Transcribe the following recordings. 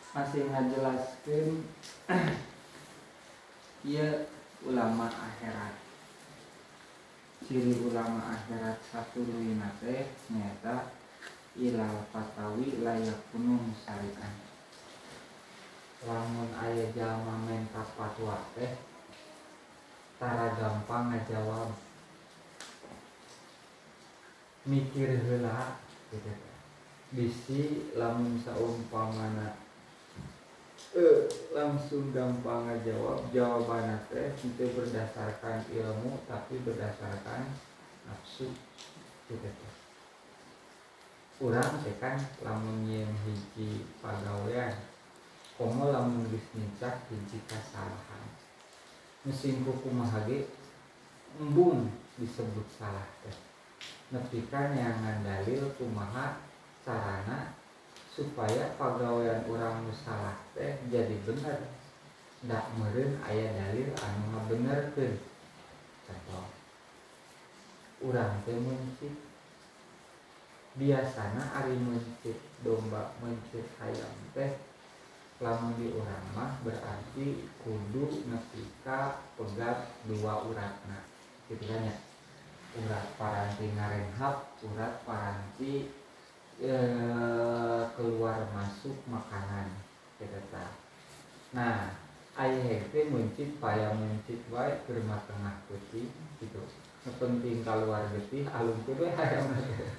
masih ngajelaskeun ieu ulama akhirat. Ciri ulama akhirat satuluina teh nyaeta ilal fatawi layak kunung syari'an. Lamun aya jalma menta fatwa teh tara gampang ngajawab, mikir heula gitu. Bisi lamun saumpamana langsung gampang ngajawab, jawabanna teh itu berdasarkan ilmu tapi berdasarkan nafsu gitu. Urang teh kan lamun nyieun hiji pagawean komo lamun geus nincak hiji kasalahan mesin kumaha ge embung disebut salah teh nepi ka neangan dalil kumaha carana supaya pagawean urang nu salah teh jadi bener. Da meureun aya dalil anu ngabenerkeun. Contoh urang teh mencit, biasana ari mencit domba mencit hayam teh lamun di urang mah berarti kudu nepi ka pegat dua uratna kitu kan nya. Urat paranti ngarenghap, urat paranti keluar masuk makanan gitu ta. Nah, aya hete mencit paya mencit wae keur tengah peuting gitu. Penting keluar getih alung teh hayam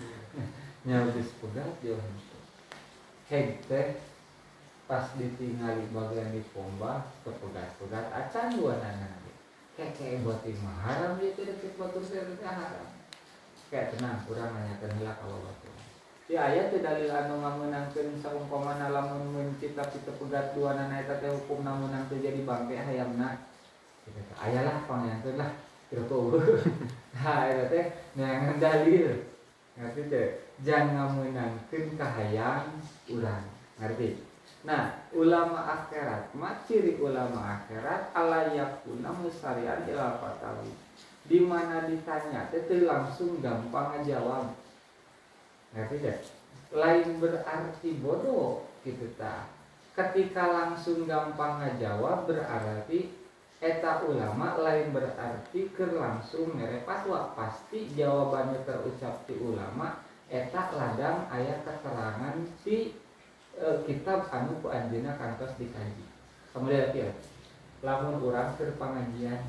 nya geus pegat jauh henteu. Hete pas ditingali bagian di pomba kepegat-pegat acan duanana. Kayak buat imah haram dia teh deket batur teh haram. Kayak tenang kurang nanyakeun heula ka batur. Di ayat teh dalil anu ngameunangkeun saumpamana lamun mencit tapi tepegat duanana eta teh hukumna meunang teu jadi bangke hayamna. Kitu teh ayalah pangayankeun lah kitu. Ha eta teh neangan dalil. Ngerti teh? Jangan ngameunangkeun ka hayang urang. Ngerti? Nah, ulama akhirat, ciri ulama akhirat alayakuna musarian ila fatawi. Di mana ditanya teh langsung gampang ngajawab. Ngerti deh? Lain berarti bodoh gitu ta. Ketika langsung gampang ngajawab berarti eta ulama, lain berarti keur langsung mere fatwa. Pasti jawabannya terucap ti ulama eta ladang aya keterangan ti kitab anu ku anjeunna kantos dikaji. Kemudian ya, lamun urang keur pangajian,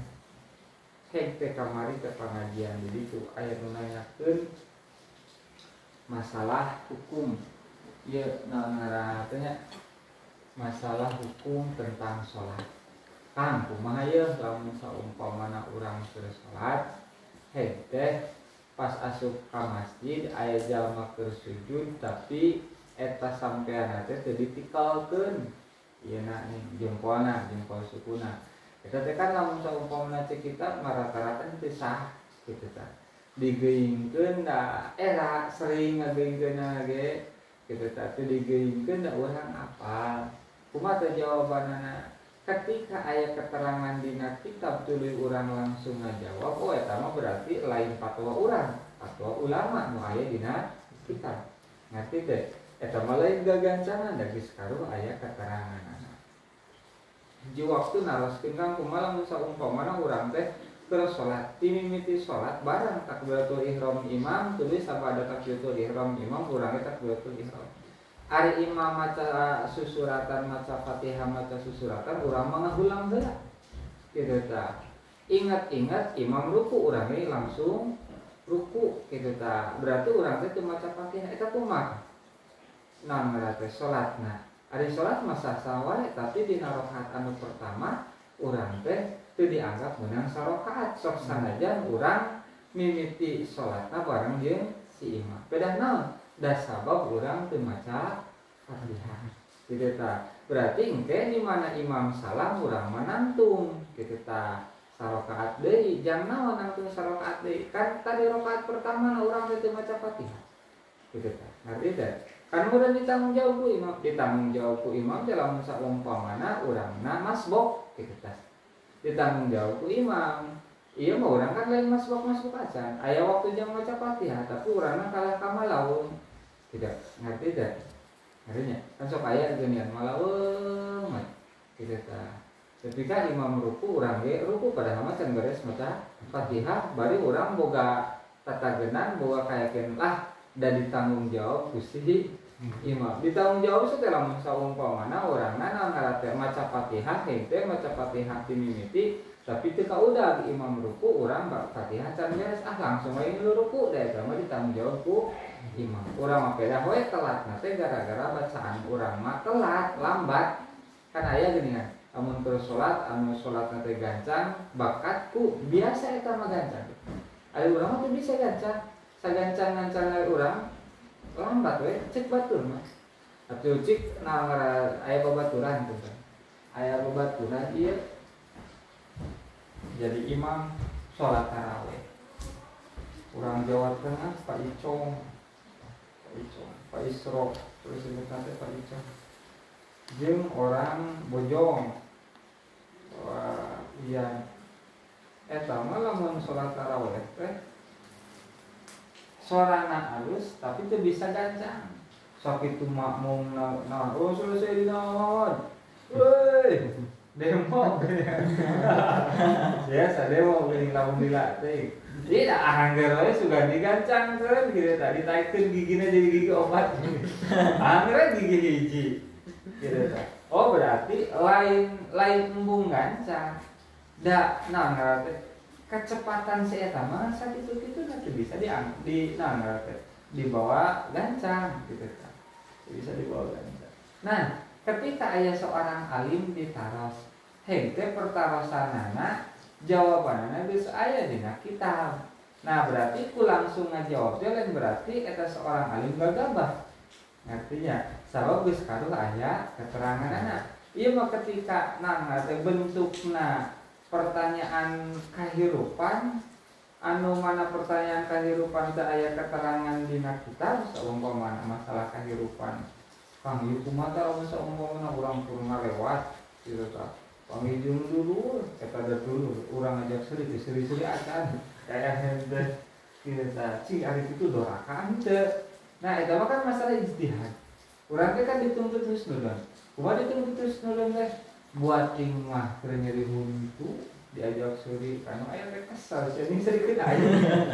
teh kamari ke pangajian jadi tu aya nu nanyakeun masalah hukum. Ieu ngaranna teh masalah hukum tentang salat. Kang kumaha ye lamun saumpamana urang keur salat, teh pas asup ka masjid aya jalma keur sujud tapi eta sampean teh teu ditikalkeun ieu na jempolna, jempol sukuna. Eta teh kan lamun saumpamana cek kitab rata-rata teu sah kitu tah. Digeuingkeun da era sering ngageuingkeunna ge kitu tah teu digeuingkeun da urang apal. Kumaha teh jawabanana? Ketika aya keterangan dina kitab tuluy urang langsung ngajawab, oh eta mah berarti lain fatwa urang, fatwa ulama nu aya dina kitab. Ngerti teh? Eta mah lain gagancangan da geus karuh aya keteranganna. Di waktu naroskeun kang kumaha lamun saumpamana urang teh keur salat, timimiti salat bareng takbiratul ihram imam tuluy sabada takbiratul ihram imam urang teh takbiratul ihram. Ari imam maca susuratan, maca Fatihah, maca susuratan urang mah ngahulang heula. Kitu tah. Ingat-ingat imam ruku urang ge langsung ruku kitu tah. Berarti urang teh teu maca Fatihah eta kumaha? Nah berarti salatna ari salat mah sah-sah wae tapi dina rakaat anu pertama urang teh teu dianggap meunang sarakaat sok sanajan urang mimiti salatna bareng jeung si imam. Pedah naon? Da sabab urang teu maca Fatihah. Kitu tah. Berarti engke di mana imam salam urang manantung kitu tah. Sarakaat deui, jang naon nangtung sarakaat deui? Kan tadi rakaat pertama urang teu maca Fatihah. Kitu tah. Ngerti teh? Kan udah ditanggung jawab ku imam teh lamun saumpamana urangna masbok kitu tah. Ditanggung jawab ku imam. Ieu mah urang kan lain masbok acan. Aya waktu jang maca Fatihah tapi urangna kalah ka malaun. Tidak ngerti teh. Artinya kan sok aya geunian malah mah kitu tah. Ketika imam ruku urang ge ruku padahal mah can beres maca Fatihah bari urang boga tatagenan boga kayakeun lah da ditanggung jawab ku si imam. Ditanggung jawab setelah lamun saumpamana urangna ngaranna maca Fatihah henteu maca Fatihah ti mimiti tapi teu kaudag imam ruku urang Fatihah can beres langsung we ruku da eta mah ditanggung jawab ku imam. Urang mah pedah we telat teh gara-gara bacaan urang mah telat lambat kan aya geuningan amun keur salat anu salatna teh gancang bakatku biasa eta mah gancang aya urang mah teu bisa gancang sagancang-gancang aya urang lambat we cek batur mah atuh cik aya babaturan tuh kan aya babaturan ieu jadi imam salat tarawih urang Jawa Tengah Pak Icong Pak Isro terus disebutna teh Pak Icong jeung orang Bojong wah iya eta mah lamun salat tarawih teh sorana halus tapi teu bisa gancang sok itu makmum naon oh selesai di naon weuy demo biasa demo geuning lamun lila teh tidak angger we sugan digancangkeun kitu tadi ditaikeun gigina jadi gigi obat angger gigi hiji kitu tah. Oh berarti lain embung gancang da naon teh kecepatan si eta mah sakitu-kitu nanti bisa dibawa gancang gitu kan. Bisa dibawa gancang. Nah, ketika aya seorang alim ditaros, henteu pertarosanana jawabanana geus aya dina kitab. Nah, berarti ku langsung ngajawab teh lain berarti eta seorang alim gagabah. Artinya, sabab geus karuh aya keteranganana. Ieu mah ketika teh bentukna pertanyaan kahirupan anu mana pertanyaan kahirupan teu aya keterangan dina kitab saumpamana masalah kahirupan panggih kumaha lamun saumpamana urang kudu ngalewat kitu tah panggih jeung dulur eta da dulur urang ngajak seuri acan kaya henteu kitu tah cing ari kitu dorakaan teu nah eta mah kan masalah ijtihad urang teh kan dituntut husnuzon kumaha dituntut husnuzon teh buat ting mah keur nyeri huntu diajak suri kanu aya teh kesal seuing sedikit aya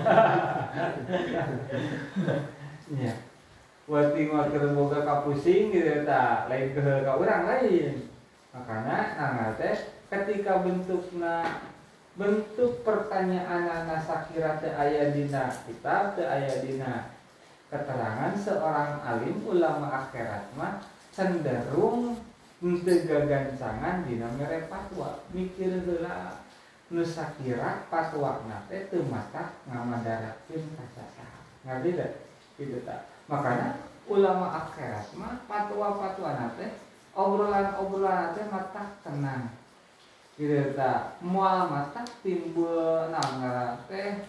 nya buat ting mah keur boga kapusing gitu tah lain ke urang lain makana teh ketika bentuk pertanyaan sakira teu aya dina kitab teu aya dina keterangan seorang alim ulama akhirat mah cenderung henteu gagancangan dina mere fatwa mikir heula nu sakira fatwana teh teu matak ngamadarakeun ka sasaha ngarti teh kitu tah makana ulama akhirat mah fatwa-fatwana teh obrolan-obrolan teh matak tenang kitu tah moal matak timbul ngaran teh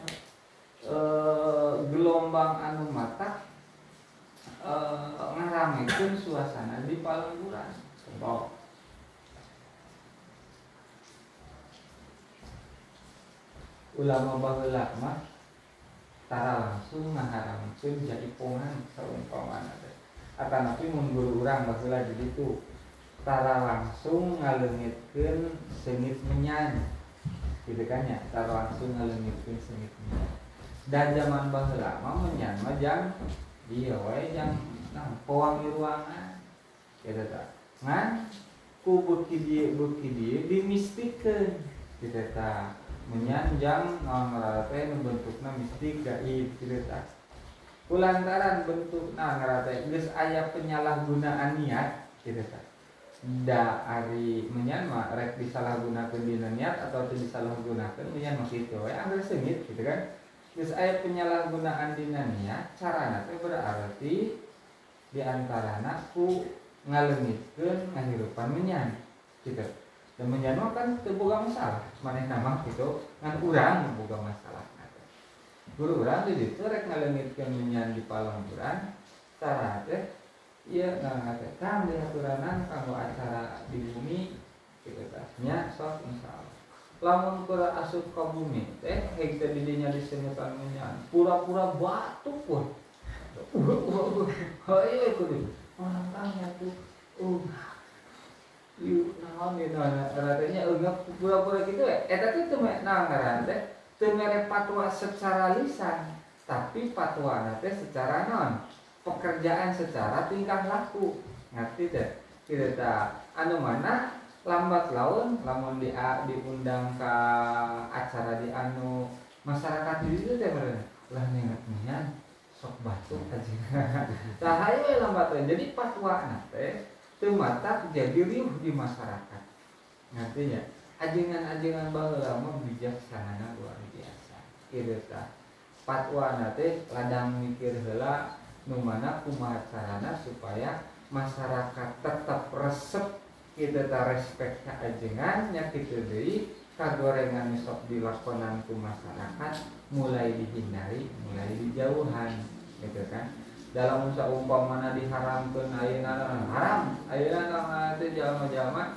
gelombang anu matak ngaramekeun suasana di palengguran. Contoh ulama baheula mah tara langsung ngaharamkeun jaipongan saumpamana teh. Atanapi mun guru urang baheula di ditu tara langsung ngaleungitkeun seungit menyan. Kitu kan nya, tara langsung ngaleungitkeun seungit menyan. Dan zaman baheula mah menyan mah jang ieu we jang pewangi ruangan. Kitu tah. Ngan ku beuki dieu dimistikeun kitu tah menyanjang naon ngaranna teh nu bentukna mistik gaib kitu tah kulantaran bentukna ngaranna teh geus aya penyalahgunaan niat kitu tah da ari menyan mah rek disalahgunakeun dina niat atau teu disalahgunakeun menyan mah kitu we angger seungit kitu kan geus aya penyalahgunaan dina niat carana teh berarti di antarana ku ngaleungitkeun ngahirupan menyan kitu. Dan menyan kan teu boga masalah, manehna mah kitu ngan urang boga masalah. Guru urang di ditu rek ngaleungitkeun menyan di palengguran, cara teh ieu teh kang diaturanan kanggo acara di bumi kitu tah. Nya sok insyaallah. Lamun keur asup ka bumi teh heg teh di dinya diseungutan menyan, pura-pura batuk pun. Haye kudu orang tanya tuh yuk naon gitu ratanya enggak pura-pura gitu tapi teu ngaran teh teu mere fatwa secara lisan tapi fatwa teh secara non pekerjaan secara tingkah laku ngerti teh kitu tah anu mana lambat laun lamun diundang ka acara di anu masyarakat di ditu teh meureun lah nengat sok batuk aja tah hayu lambat laun jadi fatwa teh teu matak jadi riuh di masyarakat. Artinya ajengan-ajengan baheula mah bijaksana luar biasa. Kitu tah. Fatwana teh ladang mikir heula nu mana kumaha carana supaya masyarakat tetap resep kitu tah respek ka ajengan nya kitu deui kagorengan sok dilakonan ku masyarakat mulai dihindari, mulai dijauhan gitu kan. Dalam saumpamana diharamkeun ayeuna haram ayeuna teh jalma-jalma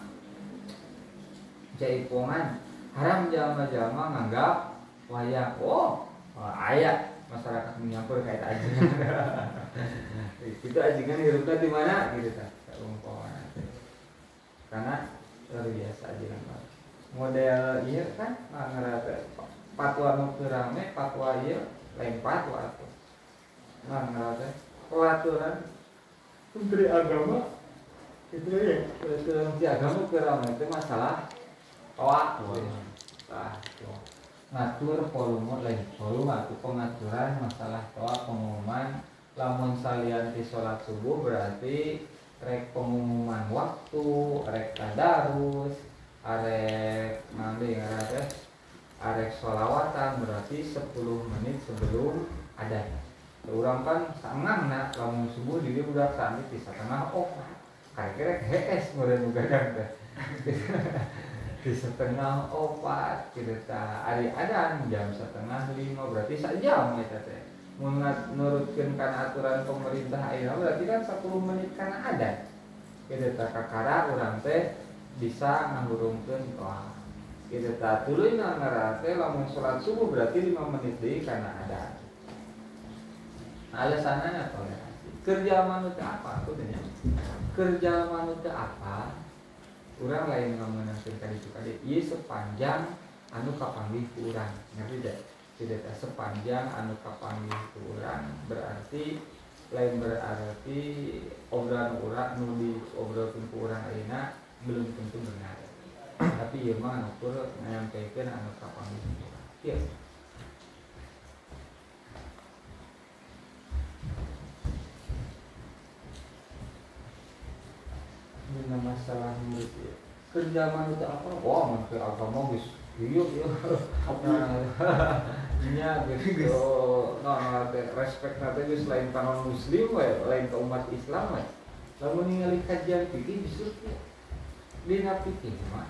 jaipongan haram jalma-jalma nganggap wayang aya masyarakat menyampur kayak ajengan itu ajengan hirupna di mana gitu tah saumpamana karena luar biasa ajengan model ieu kan ngarana fatwa nu teu rame fatwa ieu lain fatwa atuh ngarana peraturan Menteri Agama itu ya peraturan Menteri Agama kurang itu masalah waktu ngatur volume lain volume atau pengaturan masalah pengumuman lamun salian di sholat subuh berarti rek pengumuman waktu rek tadarus arek nanti arek sholawatan berarti 10 menit sebelum adanya. Urang kan sangangna lamun subuh di dieu budak sami di setengah kira-kira hees meureun gadang teh di setengah 4 kitu tah ari adan jam setengah 5 berarti sajam eta teh mun nurutkeun kana aturan pemerintah ayeuna berarti kan 10 menit kana adan kitu tah kakara urang teh bisa ngahurungkeun kitu tah tuluy ngaran teh lamun salat subuh berarti 5 menit deui kana adan. Alasannya toleransi. Kerja manusia apa? Aku tanya. Kerja manusia apa? Urang lain ngamenangkeun ka ditu kade. Ieu sepanjang anu kapanggih ku urang. Ngerti teh? Tidak sepanjang anu kapanggih ku urang berarti lain berarti obrolan urang nu diobrolkeun ku urang ayeuna belum tentu benar. Tapi ieu mah anu kur nyampikeun anu kapanggih ku urang. Ieu dengan masalah murid ya. Kerja manusia apa? Wah, manusia agama guys. Iya. Nya gitu. Nah, respect nanti guys lain kanon muslim we, lain ke umat Islam we. Lamun ningali kajian fikih justru dina fikih mah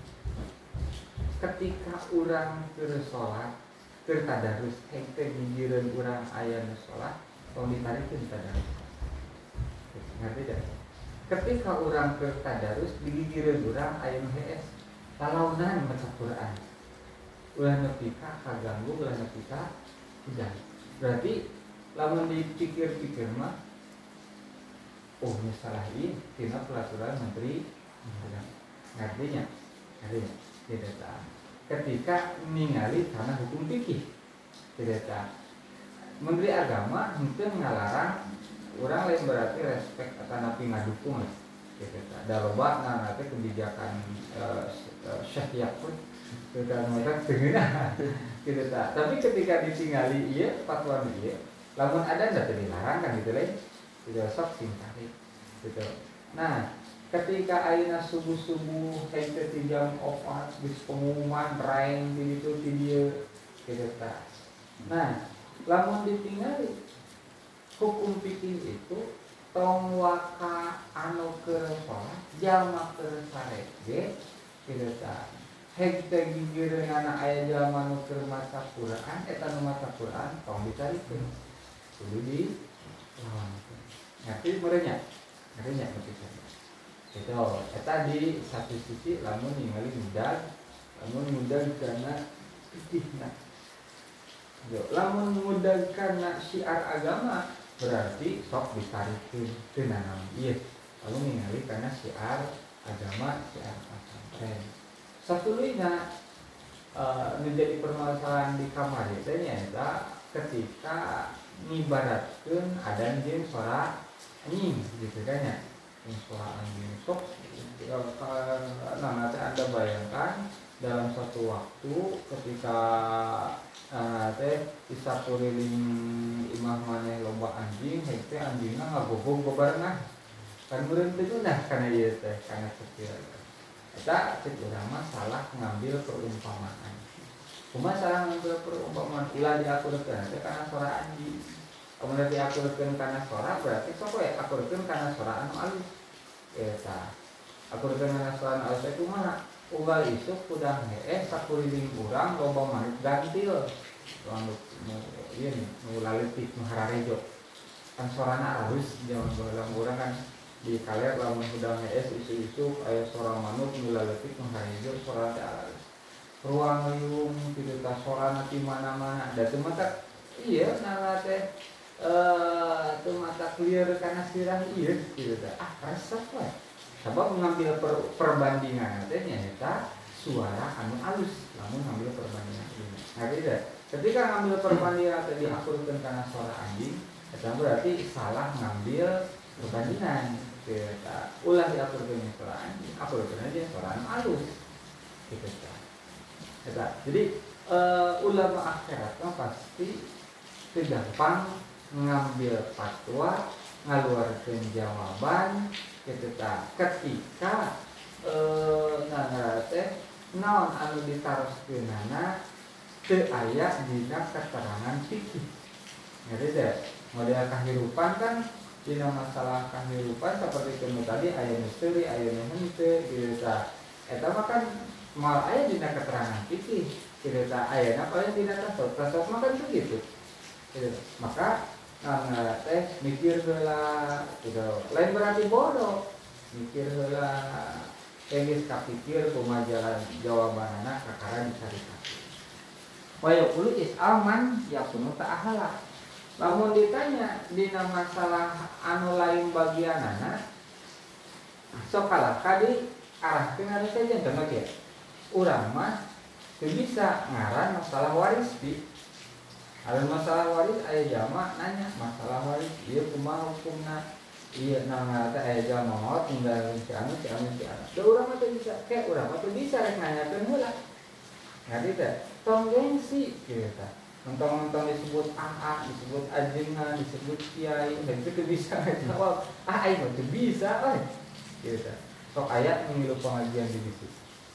ketika urang keur salat, keur tadarus, henteu ngijireun urang aya nu salat, tong ditarikeun tadarus. Ngerti tidak? Ketika orang ke tadarus digigireun urang aya nu hees talaunan maca Quran ulah nepi ka kaganggu ulah nepi ka udah berarti lamun dipikir-pikir mah salah ieu tina peraturan menteri ngartinya tidak tahu ketika ningali karena hukum fikih tidak tahu menteri agama henteu ngalarang urang lain berarti respect akan napi ngadukung gitu. Da loba nanti kebijakan syariah pun kita mereka dengeuna gitu ta. Tapi ketika ditinggali ieu fatwa ieu lamun ada ndak dilarang kan gitu lain. Tidak sok singkari gitu. Nah, ketika ayeuna subuh-subuh henteu ti jam 4 geus pengumuman raeng di ditu ti dieu gitu ta. Nah, lamun ditinggali hukum fikih itu tong waka anu keur salat jalma keur sarege kitu tah henteu gigireunana aya jalma nu keur maca Quran eta nu maca Quran tong dicarikeun kudu di lawankeun ngerti meureunnya kitu eta di satu sisi lamun ningali mudag kana fikihna lamun mudag kana syiar agama berarti sok ditarikeun teu nanam ieu lalu ningali kana syiar agama syiar pesantren. Satuluйna menjadi permasalahan di kamar itu nyata ketika ngibaratkeun adan jeung suara anjing gitu kan ya. Yang suara anjing sok nah Anda bayangkan dalam satu waktu ketika disapuriling imah maneh loba anjing henteu anjingna ngagogong bebarengan kan meureun teh geunah kana ieu teh kana sepir eta cek urang mah salah ngambil perumpamaan. Kumaha salah ngambil perumpamaan ulah diaturkeun teh kana suara anjing. Kemudian diaturkeun kana suara berarti sok we aturkeun kana suara anu alus eta. Aturkeun kana suara anu alus teh kumaha? Unggal isuk kudah heeh sakuriling urang loba manuk gantil. Manuk ieu nu laletik nu hararejo. Kan suarana halus jaman baheula urang kan di kaler lamun udah heeh isu-isu aya suara manuk nu laletik nu hararejo suara teh halus. Ruang liung kitu tah suarana di mana-mana. Da teu mata ieu nana teh teu mata clear kana sirah ieu kitu teh. Resep we. Sabab mengambil perbandingan teh nyaeta suara anu alus lamun ngambil perbandingan ini. Nah tidak. Ketika ngambil perbandingan teh diaturkeun kana suara anjing, eta berarti salah ngambil perbandingan. Eta ulah diaturkeun suara anjing, aturkeun aja suara anu alus. Gitu kan. Eta. Jadi ulama akhirat pasti teu gampang ngambil fatwa, ngaluarkeun jawaban ketika teh naon anu ditaroskeunana teu aya dina keterangan fikih. Jadi teh model kahirupan kan dina masalah kahirupan seperti itu tadi aya misteri aya nu henteu kitu tah. Eta mah kan moal aya dina keterangan fikih. Kitu tah ayana paling dina tasawuf mah kan begitu. Maka teh mikir heula gitu. Lain berarti bodoh. Mikir heula geus kapikir kumaha jalan jawabanana kakara dicari-cari. Wa yaqulu is'alman yakunu ta'ahala. Lamun ditanya dina masalah anu lain bagianana sok kalah kadi arahkeun anu saja contoh kieu. Urang mah teu bisa ngaran masalah waris di ada masalah waris aya jama nanya masalah waris ieu kumaha hukumna ieu nang teh aya jama maot tinggal si anu teu urang mah teu bisa ke urang mah teu bisa rek nanyakeun heula ngadi teh tong gengsi kieu tah mentong-mentong disebut AA disebut ajengan disebut kiai dan teu bisa jawab aing mah teu bisa we kieu tah sok aya nu ngilu pengajian di ditu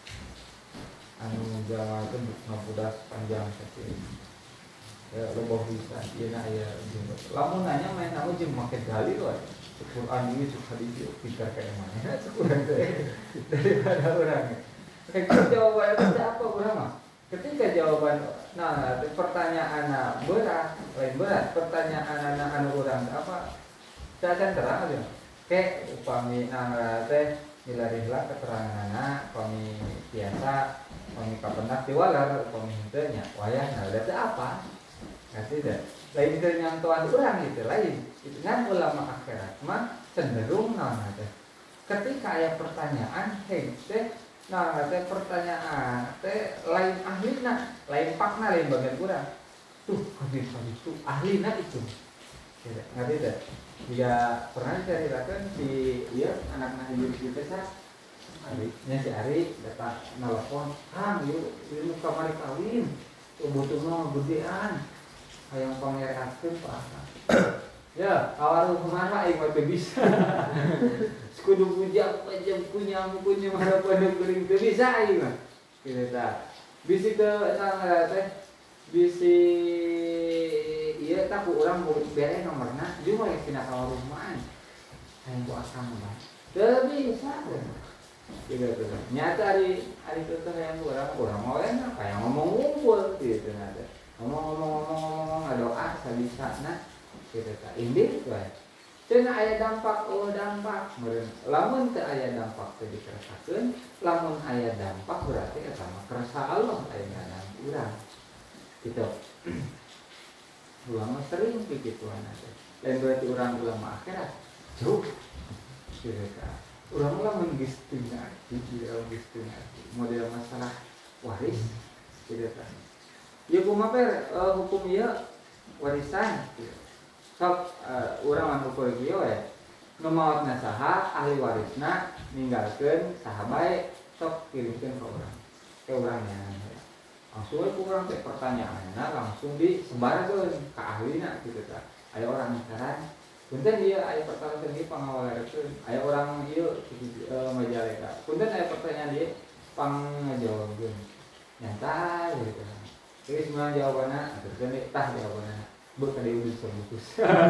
anu jama teh ngapudas panjang sakieu ya loba bisa ieu na aya lamun nanya main namu jeung make dalil we Quran ieu cuk hadis pintar ka mana kurang teh daripada urang ketika jawaban teh apa urang mah ketika jawaban nah pertanyaanna berat lain berat pertanyaanna anu urang apa teh acan terang aja ke upami teh milarihlah keteranganna upami biasa upami kapendak diwalar upami henteu nya wayahna teh apa kasih dah. Lain dari nyantuan orang itu lain. Itu kan ulama akhirat mah cenderung naon teh. Ketika aya pertanyaan, teh pertanyaan teh lain ahlina, lain pakna lain bagian urang. Tuh, hadis itu ahlina itu. Ngerti teh? Jika pernah diceritakan si anak-anak ibu kita sah nya si Ari datang nelpon, "Kang, ieu kamari kawin. Butuhna gedean." Hayang pangereakeun Pak. Ya, awaru kumaha aing mah teu bisa. Kudu puja punya harapan geuring teu bisa aing mah. Kitu tah. Bisi teu teh bisi ieu tah ku urang bere nomorna jeung we tina ka rumahan. Hayang ku asam mah. Teu bisa. Kitu teh. Nyata ari teu teh hayang urang mah enak hayang ngomong ngumpul kitu nah teh. Ngomong ngadoa sabisana kitu tah indih we teu aya dampak dampak meureun lamun teu aya dampak teu dikeresakeun lamun aya dampak berarti eta mah kerasa Allah aya dalam urang kitu ulama sering pikituan teh lain berarti orang ulama akhirat jauh kira-kira orang ulama mengistingnya model masalah waris kira-kira ya kumaha hukum ieu warisan sok urang anu ukur kieu we nu maotna saha ahli warisna ninggalkeun saha bae sok kirimkeun ka urang ke urangnya langsung ku urang teh pertanyaanna langsung disebarkeun ka ahlina kitu tah aya orang saran punten ieu aya pertanyaan ieu pangawarekeun aya urang ieu majaleka punten aya pertanyaan ieu pangajawabkeun nyantai gitu jadi sebenarnya jawabannya terus tah jawabannya bukan dia udah sebungkus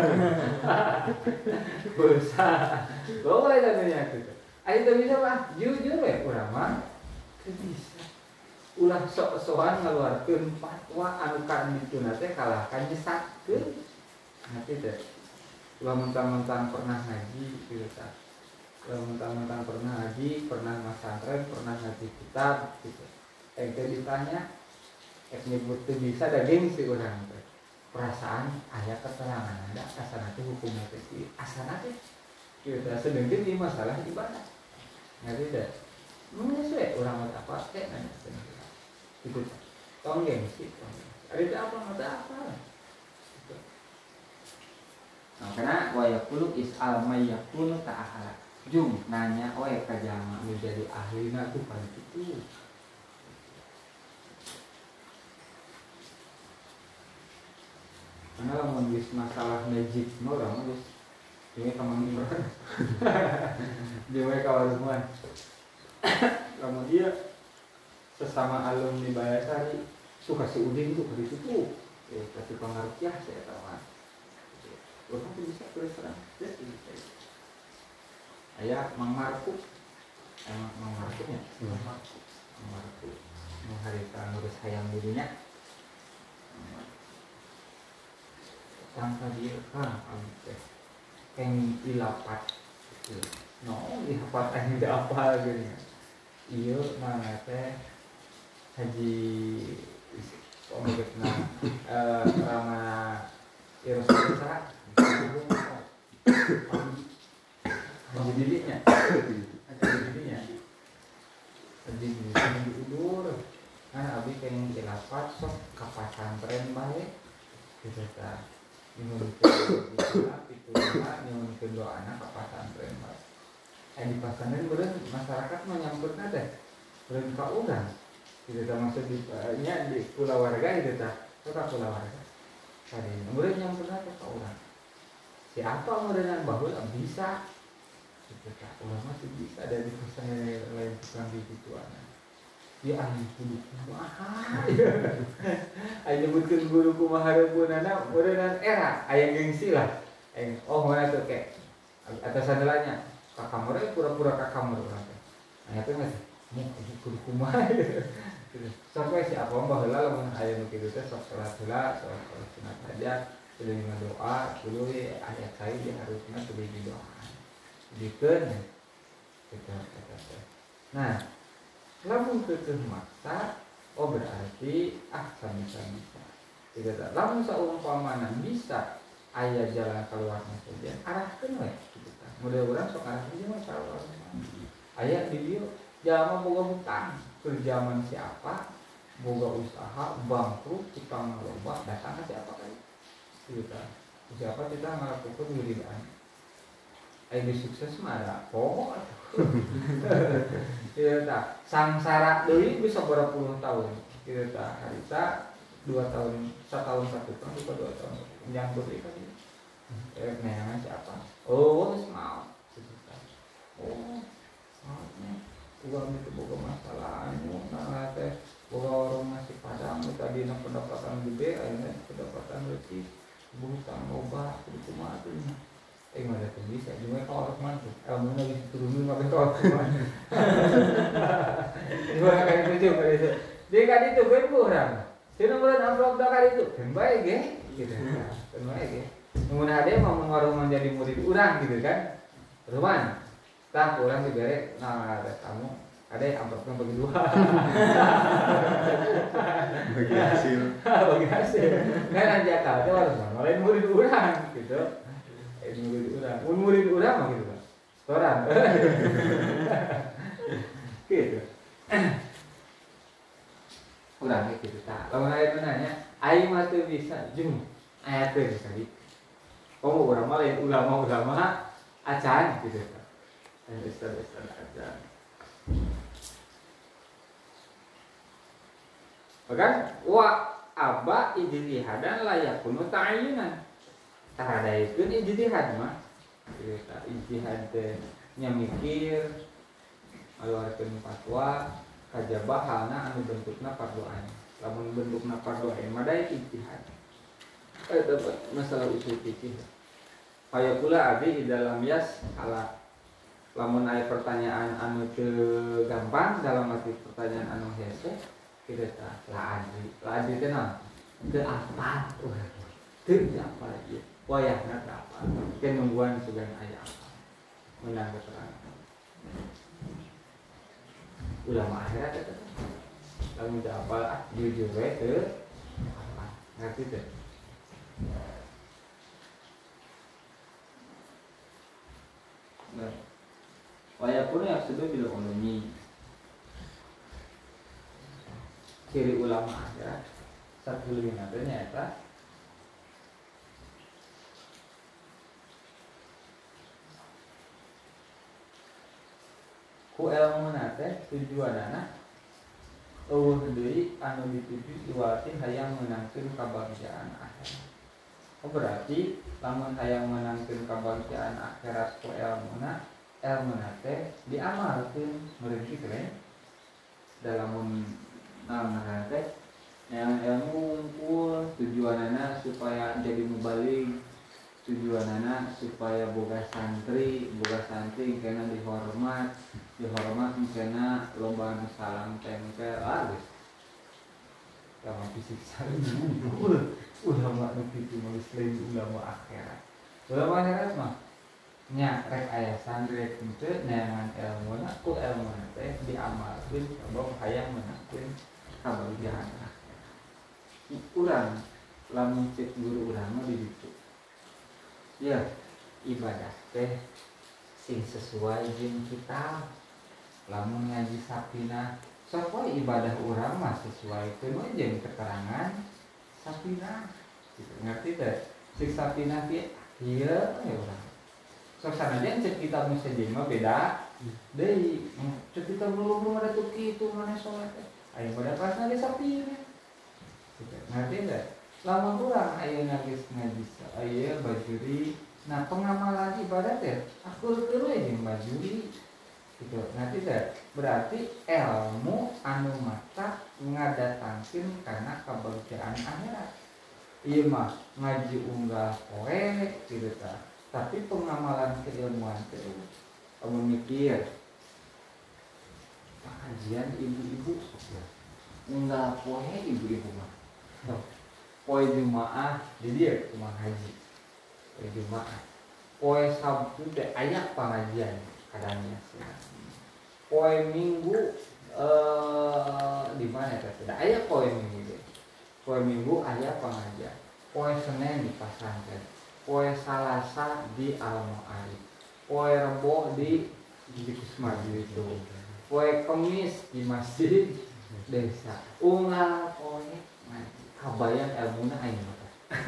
bisa boleh tanya gitu ayo tuh bisa pak jujur ya kurang mah bisa ulah sok-sokan ngeluarkeun fatwa anu kan ditu teh kalahkan nyesatkeun nanti teh ulah mentang-mentang pernah ngaji gitu tah ulah mentang-mentang pernah ngaji pernah masantren pernah ngaji kitab gitu teh ditanya nyebut teu bisa da gengsi urang teh perasaan aya keterangan ada asana teh hukumna teh asana teh kieu teh sedengkeun di masalah ibadah ngerti teh mun sesuai urang mah apa teh nanya gitu tong gengsi ari teh apa mata apa gitu. Nah karena wa yaqulu is'al may yakunu ta'ala jum nanya we ka jama menjadi ahlina tuh kan itu karena lamun geus masalah najib mah urang geus jeung kamanggiran jeung kawarungan lamun dia sesama alumni Bayasari suka si udin itu ke situ kasih pengaruh saya tahu kan orang tuh bisa terus terang aya Mang Marku Mang Marku nya Mang Marku mengharita ngurus hayang dirinya sangka dia kan yang ilapat no ilapat yang tidak apa gitu iya mana teh haji omegna rama Yerusalem haji dirinya haji diundur kan abi pengen ilapat sok ka pasantren bae gitu ta nyuhunkeun doana ka pasantren bae di pasantren beureun masyarakat mah nyampeurna teh beureun ka urang kitu tah maksud nya di kulawarga kitu tah ka kulawarga tadi beureun nyampeurna teh ka urang siapa meureunna baheula bisa kitu tah urang mah bisa dari pasantren lain tukang digituan dia ahli kudu kumaha aya nyebutkeun guru kumaha reupeunana meureunna era aya gengsi lah oh mana tuh kayak atas sandalannya kakamur pura-pura kakamur urang teh aya teh geus mu kudu kumaha sok we si apa baheula lamun aya nu kitu teh sok salat heula sok sunat hajat kudu ngadoa kudu ayat sai di harusna kudu didoa dikeun kita teh nah lamun keukeun maksa oh berarti sami-sami tidak ada lamun saumpamana bisa aya jalan keluarna saja arahkeun we kitu tah mudah-mudahan sok arahkeun mah salah aya di dieu jalma boga hutang keur zaman siapa boga usaha bangkrut tukang loba datang ka siapa kali kitu tah siapa kita ngalakukeun wiridan aya sukses mah ada poho kitu tah sangsara deui bisa berapa puluh tahun kitu tah harita 2 tahun 1 tahun 1 tahun 2 tahun nyambut deui kan neangan siapa oh geus mau kitu tah oh maafnya uang itu boga masalah anu nah teh boga warung nasi padang tadi na pendapatan gede ayeuna pendapatan leutik hutang loba kudu kumaha teh mana tuh bisa cuma kalau teman tuh ilmunya bisa turunin pakai kalau teman gimana kali itu juga itu dia kali itu kan kurang sih nomor amplop dah kali itu kan baik ya gitu kan baik ya kemudian ada mau mengaruh menjadi murid orang gitu kan teman tak orang diberi nah ada kamu ada yang amplopnya bagi 2 bagi hasil kan aja kalau itu harus ngalahin murid orang gitu murid urang. Mun murid urang mah gitu, Pak. Setoran. Gitu. Urang ge kitu tah. Lamun aya nanya, aing mah teu bisa jeung aya teu bisa di. Komo urang mah lain ulama-ulama acan gitu tah. Ustaz-ustaz acan. Bahkan wa aba ijtihadan la yakunu ta'yinan. Taradaikeun ijtihad mah. Eta ijtihad teh nya mikir ngaluarkeun fatwa kajaba halna anu bentukna fardhu ain. Lamun bentukna fardhu ain mah da ijtihad. Eta masalah usul fikih. Aya pula abi dalam yas ala lamun aya pertanyaan anu teu gampang dalam arti pertanyaan anu hese kita tah la adri teh naon teu apal teu apal ieu wayahna teu apal teh nungguan sugan aya apal meunang keterangan ulama akhirat eta lamun teu apal jujur we teu apal ngarti teh wayakun yang sudah bila ulumi ciri ulama akhirat satu lebih nantinya eta ku ilmu nate tujuanana eueuh deui anu dituju iwati hayang meunangkeun kabagjaan akhirat. Oh berarti lamun hayang meunangkeun kabagjaan akhirat ku ilmuna teh diamalkeun meureun kitu dalam teh yang ilmu ngumpul tujuanana supaya jadi mubalig tujuanana supaya boga santri kena dihormat kena loba anu salam tempel geus sama fisik saling ulama nu kitu mah lain ulama akhirat mah nya rek aya santri rek henteu neangan ilmuna ku ilmuna teh diamalkeun sabab hayang meunangkeun kabagjaan akhirat. Urang lamun cek guru urang mah di ditu. Ya, ibadah teh sing sesuai jeung kitab. Lamun ngaji sapina, sok wae ibadah urang mah sesuai teu jeung keterangan sapina. Gitu. Ngerti teh? Sing sapina kieu ieu ya urang. Sok sanajan cek kitab musajin mah beda deui. Cek kitab belum ada tuh kitu mana salat teh. Aya pada pasna ge sapina. Gitu. Ngerti teh? Lamun urang ayeuna geus ngaji aya bajuri, nah pengamalan ibadah teh akulkeun we jeung bajuri. Gitu. Ngerti teh? Berarti ilmu anu mata ngadatangkeun kana kabagjaan akhirat. Ieu mah ngaji unggah poe kitu tah. Tapi pengamalan keilmuan teh kamu mikir pengajian ibu-ibu enggak poe ibu-ibu mah poe Jumaah jadi ya cuma haji poe Jumaah poe Sabtu teh aya pengajian kadangnya poe Minggu di mana teh tidak aya poe Minggu deh poe Minggu aya pengajian poe Senin di pasantren poe Salasa di Al-Mu'arif, poe Rebo di Kusmadi itu, poe Kemis di masjid desa, unggal poe ngaji, kabayang ilmuna aing mah.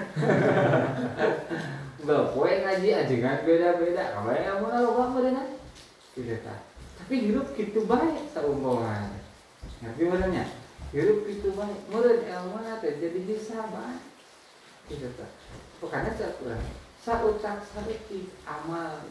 Unggal poe ngaji ajengan beda-beda, kabayang ilmuna loba meureunna. Kitu tah. Tapi hirup kitu bae saumpoman. Ngerti benernya? Hirup kitu bae, meureun ilmuna teh jadi bisa bae. Kitu tah. Karena saucap sareutik amal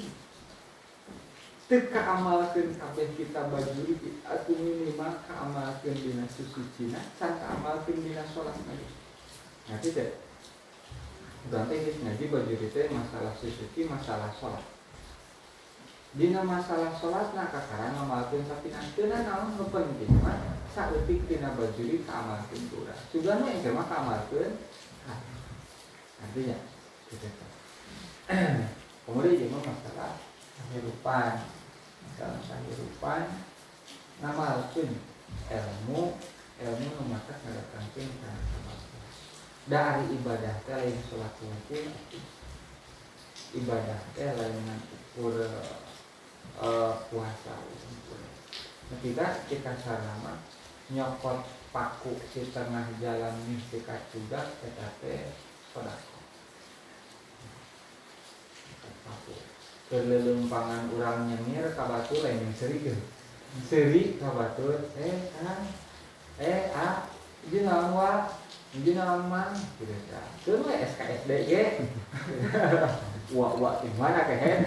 teu kaamalkeun kabeh kita bajuri atuh minimal kaamalkeun dina susucina can kaamalkeun dina salat ngaji. Ngerti teh? Berarti geus ngaji bajuri teh masalah susuci masalah salat. Dina masalah salatna kakaran ngamalkeun sapina teu naon nu penting mah saeutik dina bajuri kaamalkeun urang. Sugana engke mah kaamalkeun artinya gitu. Kemudian juga masalah kehidupan ngamalkeun ilmu mata ngadatangkeun kana kamajuan dari ibadah teh lain salat wajib ibadah teh lain ukur puasa. Nah, kita sarana nyokot paku di tengah jalan nih dekat juga tetapi sedekah. Paku kelelumpangan urang nyemir ka batur lain seri ge. Seri ka batur Kang ieu naon wa? Ieu naon mang? Gitu ya. Teu we SKSD ge. Wa di mana kehen?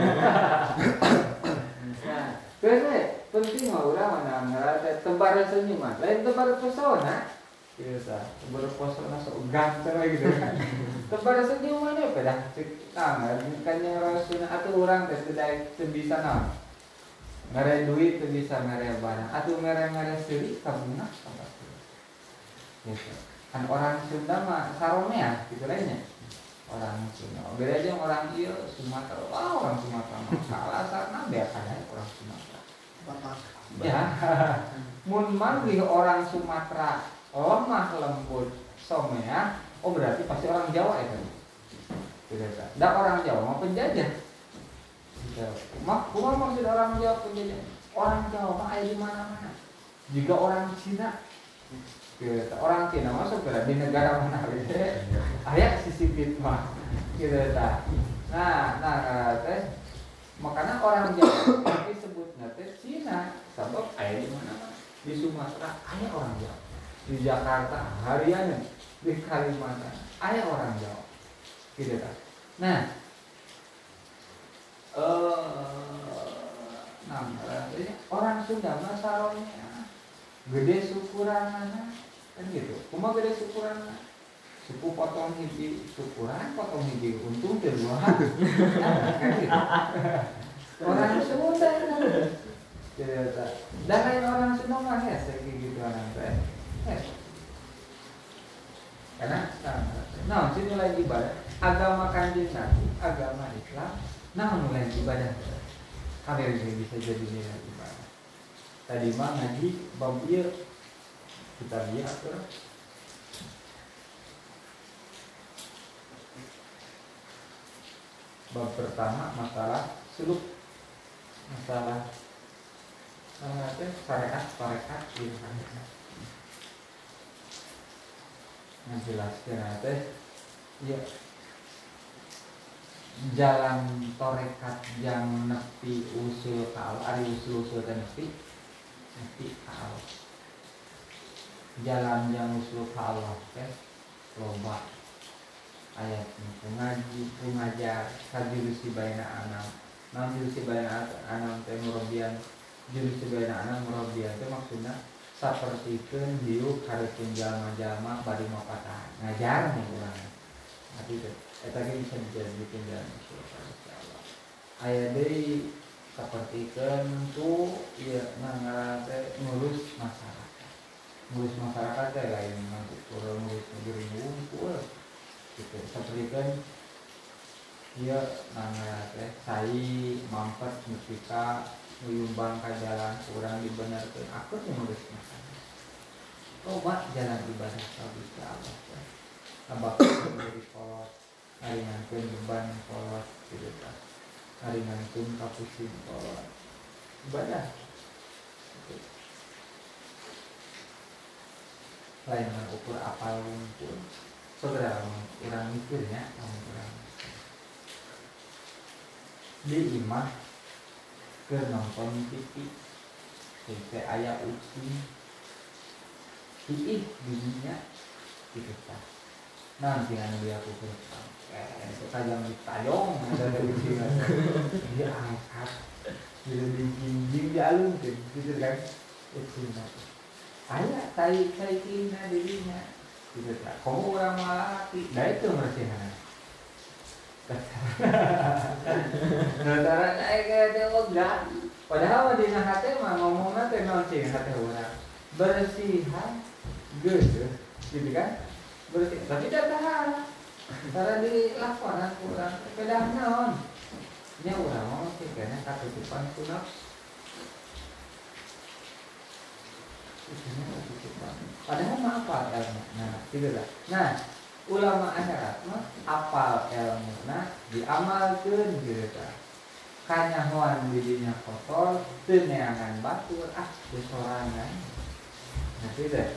Nah, terus penting mah urang mana ngarana tebar senyuman, lain tebar pesona. Kieu tah, tebar pesona sok ganteng we gitu kan. Tebar senyuman we pada kan yang Rasulna atuh urang teh teu bisa naon. Mere duit teu bisa mere barang, atuh mere seuri kabunga apa. Gitu. Kan orang Sunda mah saromea gitu lainnya. Orang Sunda. Beda aja orang ieu Sumatera. Orang Sumatera mah salah sarana biasa orang Sumatera. Ya, mun manggih orang Sumatera lemah lembut somea, berarti pasti orang Jawa itu. Tidak. Da orang Jawa mah penjajah. Kumaha maksud orang Jawa penjajah? Orang Jawa mah aya di mana-mana. Juga orang Cina. Gitu. Orang Cina masuk di negara mana we? Aya sisipit mah. Gitu ta. Nah, makanya orang Jawa disebutnya teh Cina, sebab aya di mana-mana. Di Sumatera aya orang Jawa. Di Jakarta hariannya, di Kalimantan aya orang Jawa. Gitu kan. Nah, orang Sunda mah saronya gede syukuranana kan gitu. Kumaha gede syukuranana? Suku potong hiji syukuran, potong hiji untung teu dua. Kan gitu. Orang Sunda kan. Gitu ta. Dan lain orang Sunda mah hese gitu anak teh. Karena sini mulai ibadah agama Kanjeng Nabi, agama Islam, mulai ibadah. Kabeh bisa jadi nilai ibadah. Tadi mah ngaji bab ieu kita lihat atuh. Bab pertama masalah suluk, masalah syariat gitu kan. Menjelaskan ya jalan torekat yang nepi usul ka Allah, ari usul teh nepi ka Allah. Jalan yang usul ka Allah teh loba ayat pengajar kajurusi baina anam. Jurusi baina anam teh murabian, jurusi baina anam murabian teh maksudna sapertikeun hiup hareupeun jalma-jalma bari mapatahan. Ngajar nih urang. Ati teh eta ge bisa dijadikeun jalan usul ka Allah. Aya deui sapertikeun tu ieu ngaran teh ngurus masyarakat. Ngurus masyarakat teh lain masuk urang ngurus negeri ngumpul. Gitu. Sapertikeun ieu ngaran teh sai mampet nepi nyumbang ka jalan urang dibenerkeun aku ngurus masyarakat. Coba jalan ibadah ka Allah. Abak dari kolot, aringankeun beban kolot gitu kan. Aringankeun kapusing kolot. Ibadah. Gitu. Lain ukur apal wungkul. Saudara urang mikirnya urang. Di imah ke nonton TV sampai aya ucing iih dirinya gitu kan. Nanti anu dia aku itu tajam ditayong ada dari ucing dia angkat jadi dijinjing dialung gitu kan ucing aya tai kina dirinya gitu kan. Kamu orang malaki dah itu mersihan Notara kayak teh oga. Padahal mah dina hate mah ngomongna teh naon cing hate urang. Bersihan geus gitu kan? Bersih. Tapi da tahan. Cara di laporan urang pedah naon? Nya urang mah teh kana katutupan ku nafsu. Padahal mah apa ilmu? Nah, gitu lah. Nah, ulama akhirat mah apal ilmuna diamalkeun gitu tah. Kanyahoan didinya kotor teu neangan batur teu sorangan. Nah teh.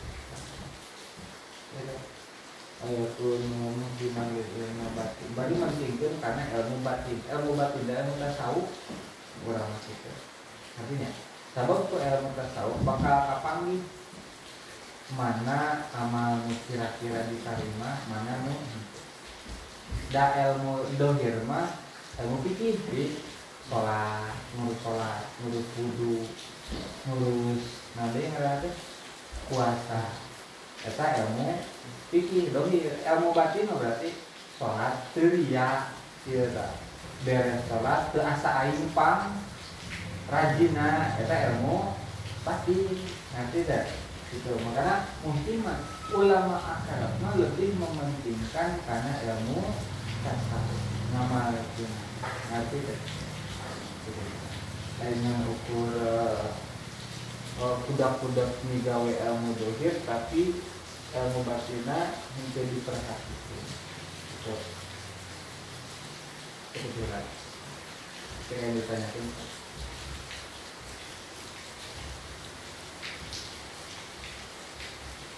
Ayo kuno mungkinan ilmu batin. Bari mentingkeun karena ilmu batin. Ilmu batin dan ilmu tasawuf urang masih. Artinya, sabab ku ilmu tasawuf bakal kapanggih mana amal kira-kira diterima, mana nu da ilmu dohir mah ilmu fikih di sholat, ngurus wudu, ngurus nanti ngerti puasa. Eta ilmu fikih dohir, ilmu batin berarti sholat teriak, ieu tah beres sholat teu asa aing pang rajina, eta ilmu batin. Nanti deh gitu. Makanya mungkin ulama akhirat mah lebih mementingkan karena ilmu tasawuf nama itu nanti deh dengan ukur kudak-kudak migawe ilmu dohir tapi ilmu batina menjadi perhatian itu jelas. Yang ditanyakan